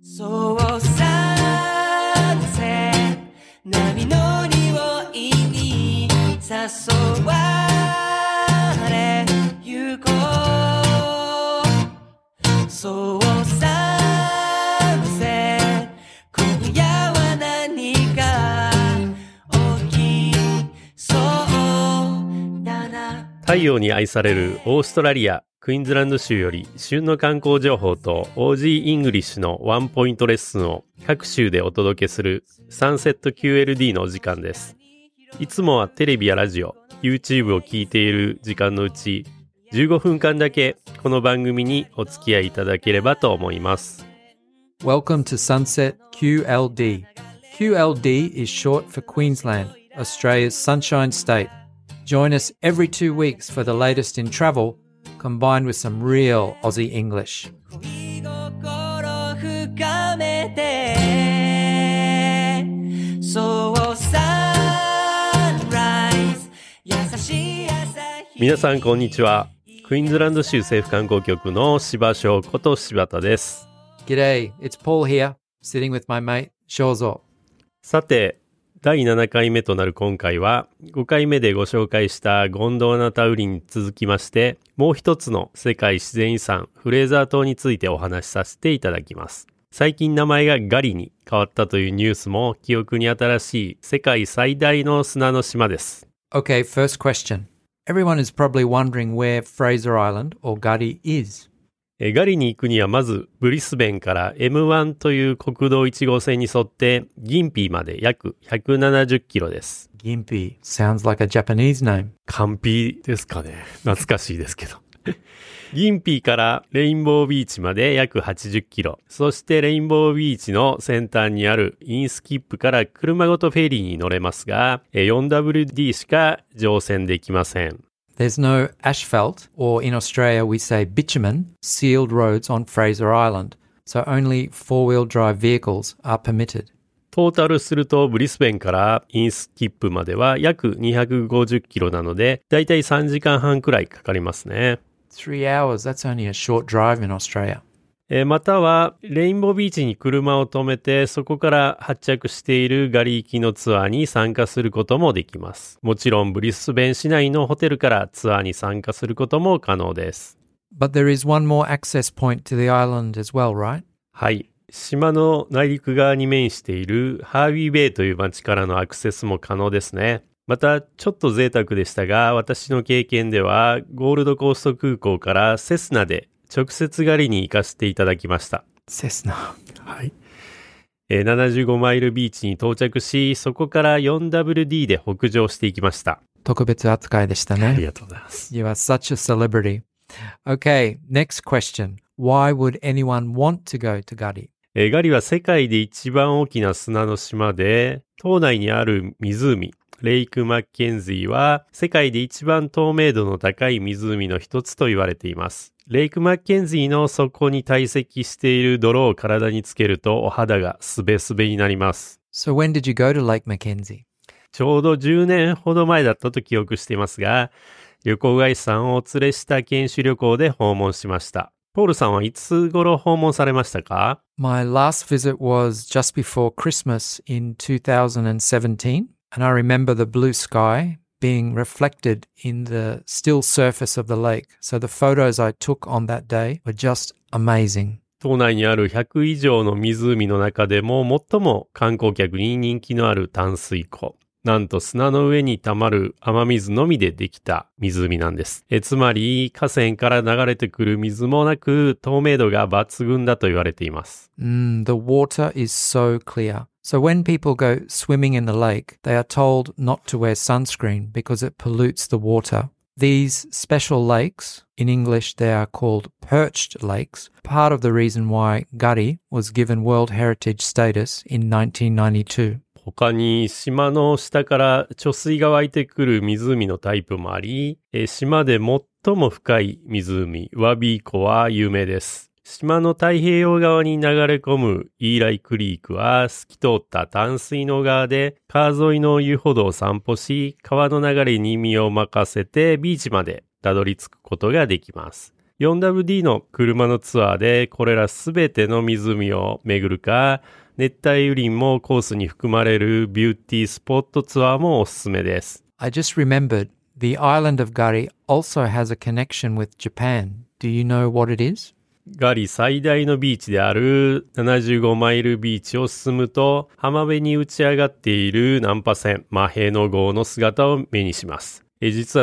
そうさせ波の匂いに誘われゆこうそうさせ今夜は何か起きそうだな。 太陽に愛されるオーストラリアクイーンズランド州より旬の観光情報と OG イングリッシュのワンポイントレッスンを各州でお届けするサンセット QLD のお時間です。いつもはテレビやラジオ、YouTube を聞いている時間のうち15分間だけこの番組にお付き合いいただければと思います。 Welcome to Sunset QLD. QLD is short for Queensland, Australia's Sunshine State.Join us every 2 weeks for the latest in travel, combined with some real Aussie English. 恋心深めてそうサンライズ優しい朝日。 皆さんこんにちは。クイーンズランド州政府観光局の柴翔こと柴田です。 G'day, it's Paul here, sitting with my mate, Shozo. さて、第7回目となる今回は5回目でご紹介したゴンドワナタウリに続きましてもう一つの世界自然遺産フレーザー島についてお話しさせていただきます。最近名前がガリに変わったというニュースも記憶に新しい世界最大の砂の島です。 Okay, first question. Everyone is probably wondering where Fraser Island or Gadi is. ガリに行くにはまずブリスベンから M1 という国道1号線に沿ってギンピーまで約170キロです。 Gympie sounds like a Japanese name. カンピですかね。懐かしいですけど。ギンピーからレインボービーチまで約80キロ。そしてレインボービーチの先端にあるインスキップから車ごとフェリーに乗れますが、4WD しか乗船できません。 There's no asphalt, or in Australia we say bitumen, sealed roads on Fraser Island, so only four-wheel drive vehicles are permitted. トータルするとブリスベンからインスキップまでは約250キロなので、だいたい3時間半くらいかかりますね。 3 hours, that's only a short drive in Australia. またはレインボービーチに車を止めてそこから発着しているガリ行きのツアーに参加することもできます。もちろんブリスベン市内のホテルからツアーに参加することも可能です。 But there is one more access point to the island as well, right? はい。島の内陸側に面しているハービーベイという町からのアクセスも可能ですね。またちょっと贅沢でしたが私の経験ではゴールドコースト空港からセスナで直接狩りに行かせていただきました。 セスナ。 はい。75マイルビーチに到着し、そこから 4WD で北上していきました。 特別扱いでしたね。 ありがとうございます。 You are such a celebrity. Okay, next question. Why would anyone want to go to Gadi? ガリは世界で一番大きな砂の島で、島内にある湖、レイク・マッケンジーは世界で一番透明度の高い湖の一つと言われています。レイク・マッケンジーの底に堆積している泥を体につけるとお肌がすべすべになります。 So when did you go to Lake Mackenzie? ちょうど10年ほど前だったと記憶していますが、旅行会社さんをお連れした研修旅行で訪問しました。ポールさんはいつ頃訪問されましたか？ My last visit was just before Christmas in 2017, and I remember the blue sky.being reflected in the still surface of the lake. So the photos I took on that day were just amazing. 島内にある100以上の湖の中でも最も観光客に人気のある淡水湖。なんと砂の上に溜まる雨水のみでできた湖なんです。つまり河川から流れてくる水もなく透明度が抜群だと言われています。 The water is so clear.So when people go swimming in the lake, they are told not to wear sunscreen because it pollutes the water. These special lakes, in English they are called perched lakes, part of the reason why Gadi was given World Heritage status in 1992. 他に島の下から貯水が湧いてくる湖のタイプもあり、島で最も深い湖、ワビー湖は有名です。島の太平洋側に流れ込むイーライクリークは透き通った淡水の川で川沿いの遊歩道を散歩し、川の流れに身を任せてビーチまでたどり着くことができます。 4WD の車のツアーでこれらすべての湖を巡るか、熱帯雨林もコースに含まれるビューティースポットツアーもおすすめです。 I just remembered the island of Gari also has a connection with Japan. Do you know what it is? ガリ最大のビーチである75マイルビーチを進むと、浜辺に打ち上がっている難破船マヘノ号の姿を目にします。実は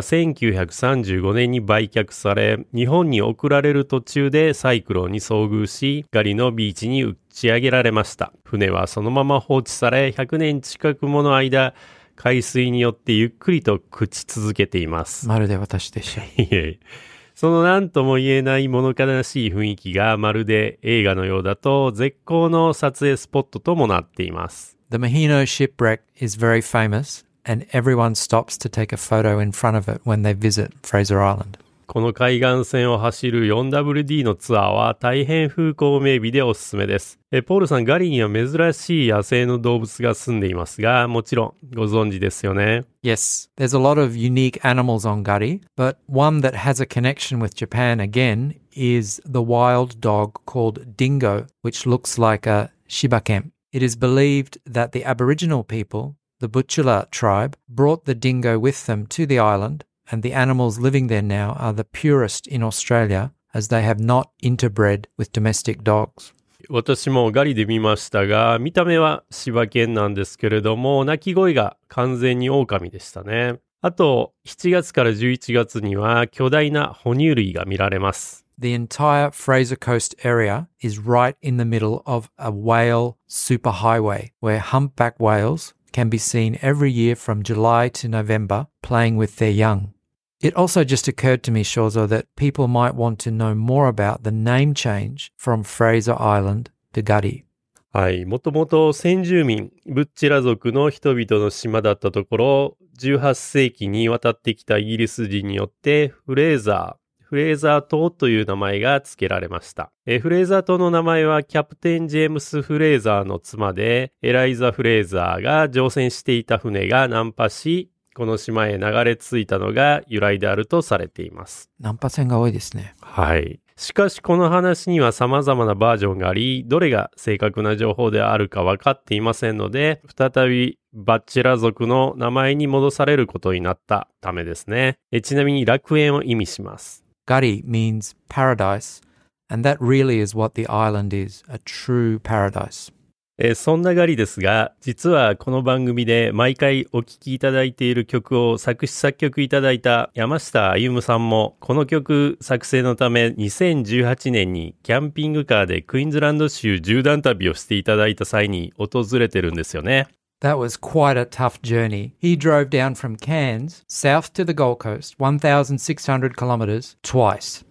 1935年に売却され、日本に送られる途中でサイクロンに遭遇し、ガリのビーチに打ち上げられました。船はそのまま放置され、100年近くもの間、海水によってゆっくりと朽ち続けています。 まるで私でした。 その何とも言えない物悲しい雰囲気がまるで映画のようだと絶好の撮影スポットともなっています。 The Maheno shipwreck is very famous.And everyone stops to take a photo in front of it when they visit Fraser Island. この海岸線を走る 4WD のツアーは大変風光明媚でおすすめです。ポールさん、ガリには珍しい野生の動物が住んでいますが、もちろんご存知ですよね。 Yes, there's a lot of unique animals on Gari, but one that has a connection with Japan again is the wild dog called Dingo, which looks like a Shibaken. It is believed that the Aboriginal people,The Butchula tribe brought the dingo with them to the island, and the animals living there now are the purest in Australia, as they have not interbred with domestic dogs. 私もガリで見ましたが、見た目は柴犬なんですけれども、鳴き声が完全に狼でしたね。あと、7月から11月には巨大な哺乳類が見られます。 The entire Fraser Coast area is right in the middle of a whale superhighway, where humpback whales,can be seen every year from July to November playing with their young. It also just occurred to me, Shozo, that people might want to know more about the name change from Fraser Island to Gadi. はい、もともと先住民、ブッチェラ族の人々の島だったところ、18世紀に渡ってきたイギリス人によってフレーザー島という名前が付けられました。フレーザー島の名前はキャプテン・ジェームス・フレーザーの妻で、エライザ・フレーザーが乗船していた船が難破し、この島へ流れ着いたのが由来であるとされています。 難破船が多いですね。 はい。しかしこの話には様々なバージョンがあり、どれが正確な情報であるか分かっていませんので、再びバッチェラ族の名前に戻されることになったためですね。ちなみに楽園を意味します。 Gadi means paradise, and that really is what the island is, a true paradise. そんなガリですが、実はこの番組で毎回お聴きいただいている曲を作詞作曲いただいた山下歩さんも、この曲作成のため2018年にキャンピングカーでクイーンズランド州縦断旅をしていただいた際に訪れてるんですよね。 That was quite a tough journey. He drove down from Cairns, south to the Gold Coast, 1,600 kilometers, twice.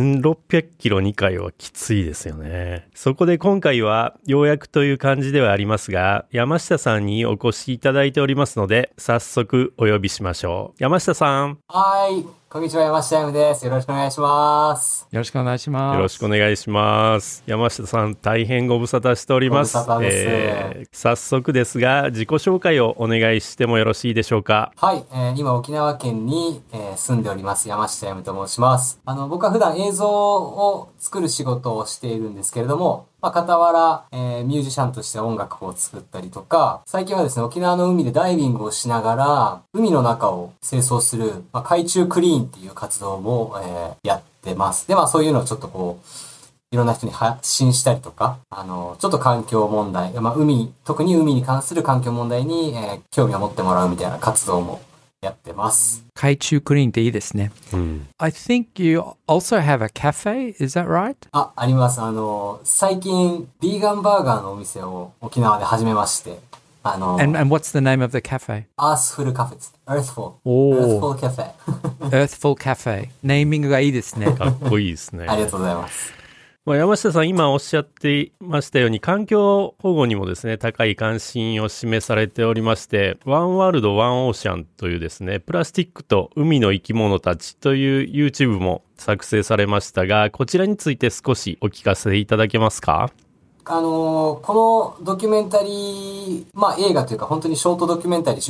1600キロ2回はきついですよね。そこで今回はようやくという感じではありますが、山下さんにお越しいただいておりますので、早速お呼びしましょう。山下さん。 はい。こんにちは、山下歩です。よろしくお願いします。 よろしくお願いします。 よろしくお願いします。山下さん、大変ご無沙汰しております。 ご無沙汰です。 早速ですが、自己紹介をお願いしてもよろしいでしょうか。 はい。今、沖縄県に、住んでおります、山下歩と申します。僕は普段映像を作る仕事をしているんですけれども、傍ら、ミュージシャンとして音楽を作ったりとか、最近はですね、沖縄の海でダイビングをしながら、海の中を清掃する、海中クリーンっていう活動も、やってます。で、そういうのをちょっといろんな人に発信したりとか、ちょっと環境問題、特に海に関する環境問題に、興味を持ってもらうみたいな活動もやってます。 海中クリーンっていいですね。I think you also have a cafe, is that right? あります。最近、ビーガンバーガーのお店を沖縄で始めまして、 And what's the name of the cafe? Earthful Cafe です。Earthful. おー。 Earthful Cafe. Earthful Cafe. ネーミングがいいですね。 かっこいいですね。 ありがとうございます。 山下さん、今おっしゃっていましたように、環境保護にもですね、高い関心を示されておりまして、ワンワールドワンオーシャンというですね、プラスチックと海の生き物たちという YouTube も作成されましたが、こちらについて少しお聞かせいただけますか？ このドキュメンタリー、まあ映画というか本当にショートドキュメンタリー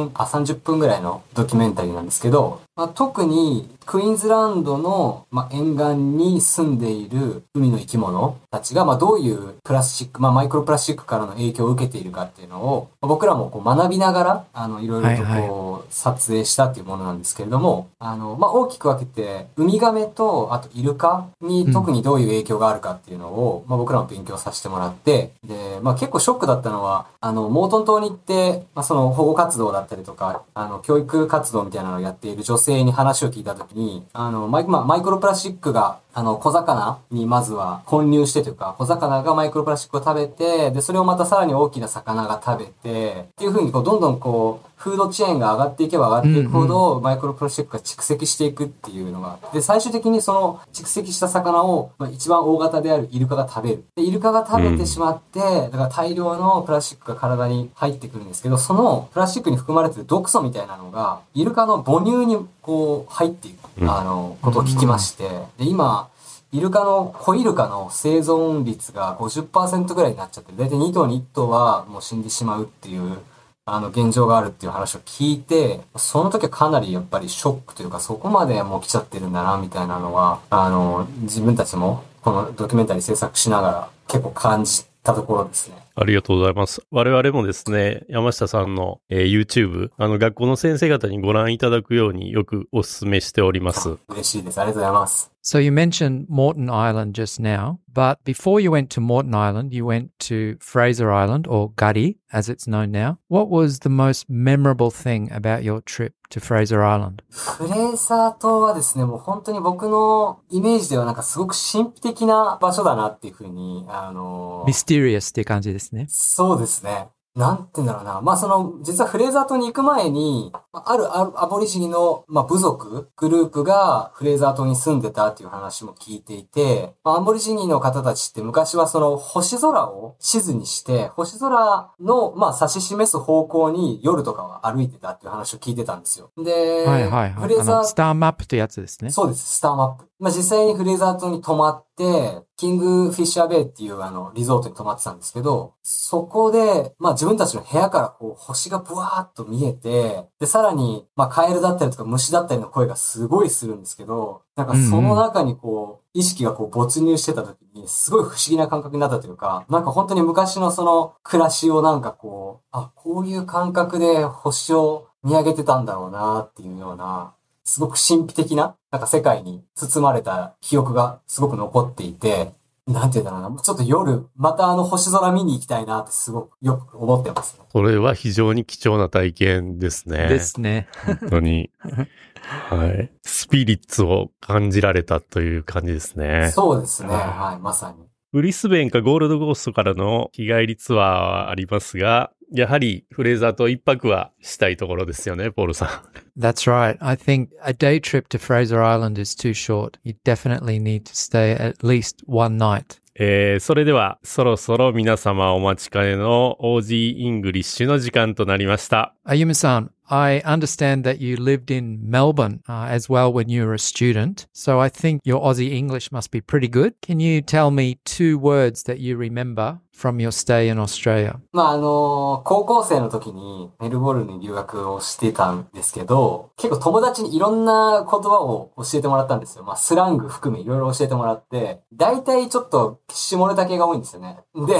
30分ぐらいのドキュメンタリーなんですけど、まあ、特にクイーンズランドの、まあ、沿岸に住んでいる海の生き物たちが、まあ、どういうプラスチック、まあ、マイクロプラスチックからの影響を受けているかっていうのを、まあ僕らもこう学びながら、いろいろとこう、撮影したっていうものなんですけれども、まあ、大きく分けて、ウミガメと、あとイルカに特にどういう影響があるかっていうのを、まあ、僕らも勉強させてもらって、で、まあ、結構ショックだったのは、モートン島に行って、まあ、その保護活動だったりとか、教育活動みたいなのをやっている女性に話を聞いたときに、マイクロプラスチックが、小魚にまずは混入してというか、小魚がマイクロプラスチックを食べて、で、それをまたさらに大きな魚が食べて、っていう風にこう、どんどんこう、フードチェーンが上がっていけば上がっていくほど、マイクロプラスチックが蓄積していくっていうのが、で、最終的にその蓄積した魚を、まあ、一番大型であるイルカが食べる。で、イルカが食べてしまって、だから大量のプラスチックが体に入ってくるんですけど、そのプラスチックに含まれている毒素みたいなのが、イルカの母乳にこう入っていく、ことを聞きまして、で、今、子イルカの生存率が 50% ぐらいになっちゃって、だいたい2頭に1頭はもう死んでしまうっていう、現状があるっていう話を聞いて、その時はかなりやっぱりショックというか、そこまでもう来ちゃってるんだな、みたいなのは、自分たちもこのドキュメンタリー制作しながら結構感じたところですね。 ありがとうございます。我々もですね、山下さんの、YouTube、学校の先生方にご覧いただくようによくお勧めしております。 嬉しいです。ありがとうございます。 So you mentioned Moreton Island just now, but before you went to Moreton Island, you went to Fraser Island, or Guddy, as it's known now. What was the most memorable thing about your trip to Fraser Island? フレーザー島はですね、もう本当に僕のイメージではなんかすごく神秘的な場所だなっていうふうに、 Mysterious っていう感じですね。 そうですね。なんて言うんだろうな。まあ、実はフレーザー島に行く前に、あるアボリジニの、部族、グループがフレーザー島に住んでたっていう話も聞いていて、アボリジニの方たちって昔は星空を地図にして、星空の、指し示す方向に夜とかは歩いてたっていう話を聞いてたんですよ。で、 はいはいはい。 フレーザー、 スターマップってやつですね。 そうです、スターマップ。実際にフレーザー島に泊まって、キングフィッシャーベイっていうリゾートに泊まってたんですけど、そこで、自分たちの部屋からこう星がブワーッと見えて、で、さらに、カエルだったりとか虫だったりの声がすごいするんですけど、なんかその中にこう、意識がこう没入してた時に、すごい不思議な感覚になったというか、なんか本当に昔の暮らしをなんかこう、こういう感覚で星を見上げてたんだろうなっていうような、すごく神秘的な、なんか世界に包まれた記憶がすごく残っていて、なんて言うんだろうな、ちょっと夜、また星空見に行きたいなってすごくよく思ってますね。 これは非常に貴重な体験ですね。 ですね。 本当に。はい。スピリッツを感じられたという感じですね。 そうですね。はい、まさに。 ブリスベンかゴールドコーストからの日帰りツアーはありますが、やはりフレーザー島一泊はしたいところですよね、ポールさん。 That's right. I think a day trip to Fraser Island is too short. You definitely need to stay at least one night. それではそろそろ皆様お待ちかねの OG イングリッシュの時間となりました。 Ayuma-san, I understand that you lived in Melbourne as well when you were a student, so I think your Aussie English must be pretty good. Can you tell me 2 words that you remember from your stay in Australia? 高校生の時にメルボルンに留学をしてたんですけど、結構友達にいろんな言葉を教えてもらったんですよ。スラング含めいろいろ教えてもらって、大体ちょっと下ネタ系が多いんですよね。で、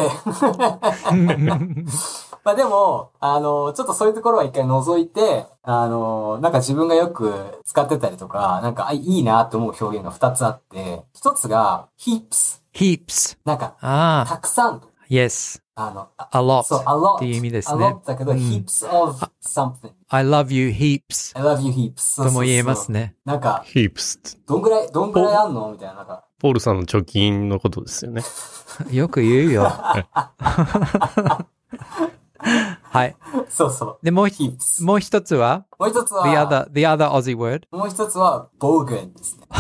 でも、ちょっとそういうところは一回除いて、なんか自分がよく使ってたりとか、なんかいいなって思う表現が2つあって、1つが heaps。なんか、たくさん。 Yes. A lot. そう、a lot. っていう意味ですね。 a lot だけど、heaps of something. I love you heaps. I love you heaps. とも言えますね。 なんか、 heaps。 どんぐらいあんのみたいな、なんか。 ポールさんの貯金のことですよね。 よく言うよ。はい。 そうそう。 で、もう一つは the other Aussie word? もう一つは、bogan ですね。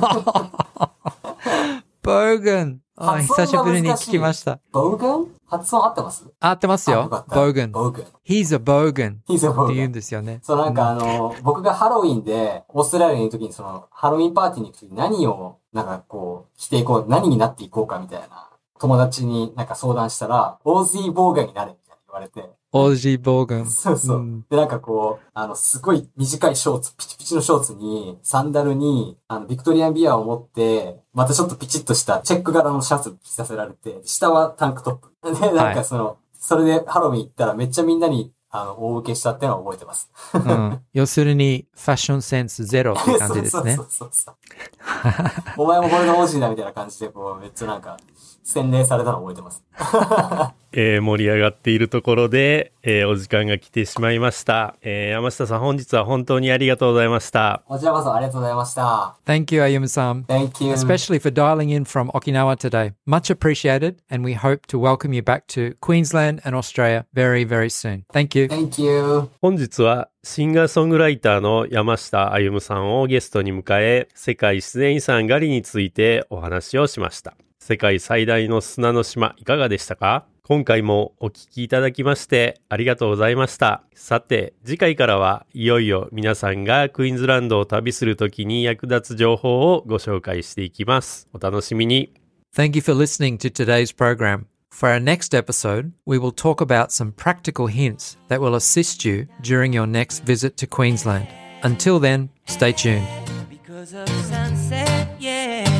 bogan。久しぶりに聞きました。 bogan？ 発音合ってます？ 合ってますよ。bogan。He's a bogan。って言うんですよね。 そう、なんか僕がハロウィンで、オーストラリアにいる時にハロウィンパーティーに行く時に何を、なんかこう、していこう、何になっていこうかみたいな友達になんか相談したら、オージー・ボーガンになれみたいに言われて。 オージー・ボーガン。 そうそう。で、なんかこう、すごい短いショーツ、ピチピチのショーツに、サンダルに、ビクトリアンビアを持って、またちょっとピチッとしたチェック柄のシャツ着させられて、下はタンクトップ。で、なんかそれでハロウィン行ったらめっちゃみんなに、大受けしたっていうのは覚えてます。 要するに、ファッションセンスゼロって感じですね。 そう。お前もこれがオージーだみたいな感じで、こう、めっちゃなんか、洗礼されたの覚えてます。 盛り上がっているところで、お時間が来てしまいました。山下さん、本日は本当にありがとうございました。 こちらこそありがとうございました。 Thank you, Ayumu-san. Thank you. Especially for dialing in from Okinawa today. Much appreciated, and we hope to welcome you back to Queensland and Australia very, very soon. Thank you. Thank you. 本日はシンガーソングライターの山下歩さんをゲストに迎え、世界自然遺産ガリについてお話をしました。世界最大の砂の島、いかがでしたか？今回もお聞きいただきましてありがとうございました。さて、次回からはいよいよ皆さんがクイーンズランドを旅するときに役立つ情報をご紹介していきます。お楽しみに。 Thank you for listening to today's program. For our next episode, we will talk about some practical hints that will assist you during your next visit to Queensland. Until then, stay tuned. Because of sunset, yeah.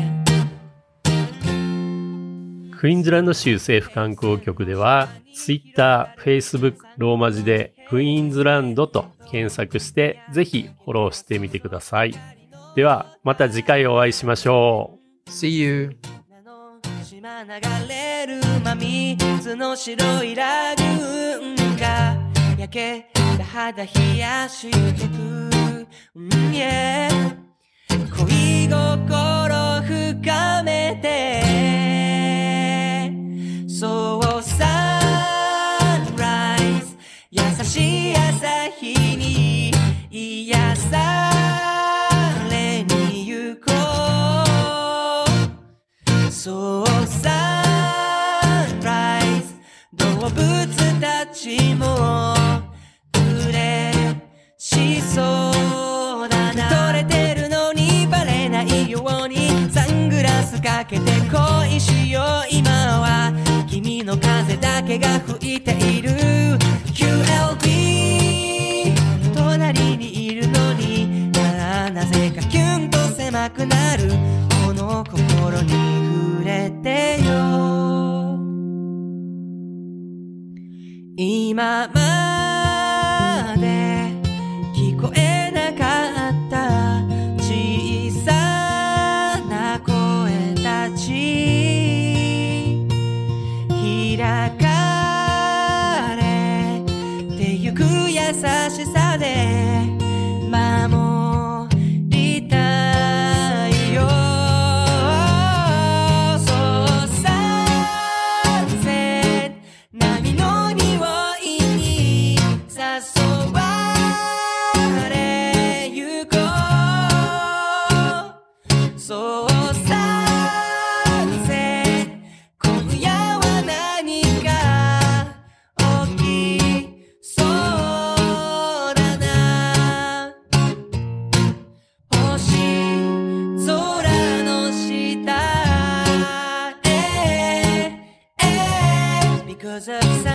クイーンズランド州政府観光局では Twitter、Facebook、ローマ字でクイーンズランドと検索してぜひフォローしてみてください。ではまた次回お会いしましょう。 See you. 島流れる真水の白いラグーンが焼けた肌冷やしてく、yeah、恋心深めてそうサンライズ優しい朝日に癒されに行こうそうサンライズ動物たちも嬉しそうだな取れてるのにバレないようにサングラスかけて恋しよう今は君の風だけが吹いている QLB 隣にいるのになぜかキュンと狭くなるこの心に触れてよ今まで聞こえなかった小さな声たち開かれてゆく優しさで守りたいよそうサンセット波の匂いに誘われゆこうそうサンセット今夜は何か起きそうだな星空の下Because of